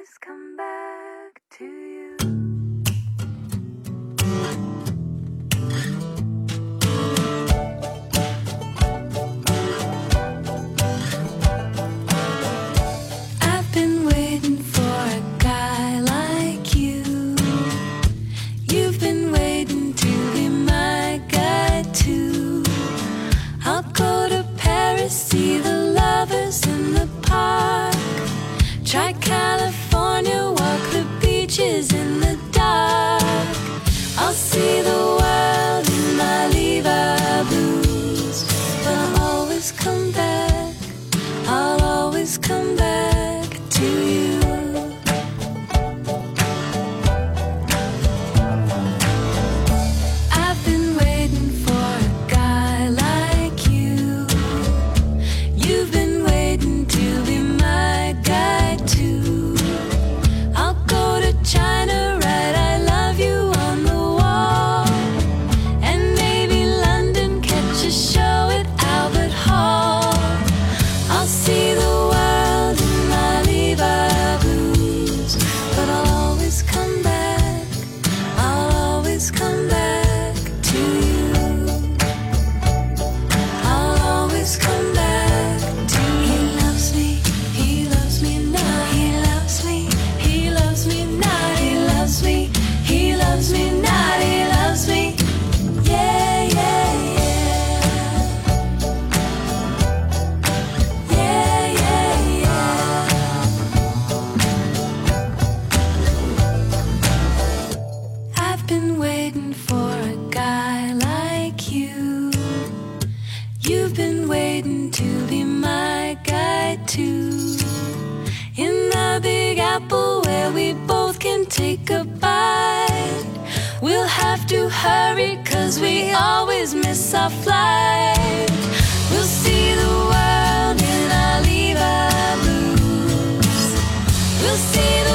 always come back to you. I've been waiting for a guy like you. You've been waiting to be my guy too. I'll go to Paris, see the lovers in the park. Try California, walk the beaches in the dark. I'll see the world in my Levi blues. But I'll always come back, I'll always come back to you. I've been waiting for a guy like you. You've been waiting to be my guy too. I'll go to China, write I love you on the wall. And maybe London, catch a show at Albert Hall. I'll see the world in my Levi blues. But I'll always come back, I'll always come back to you. I'll always come back to you. He loves me now. He loves me, he loves me now. He loves me, he loves me now. He loves me, yeah, yeah, yeah. Yeah, yeah, yeah. I've been waiting for a guy like you. You've been waiting to be my guy too. In the Big Apple where we both can take a bite. We'll have to hurry 'cause we always miss our flight. We'll see the world in our Levi blues. We'll see the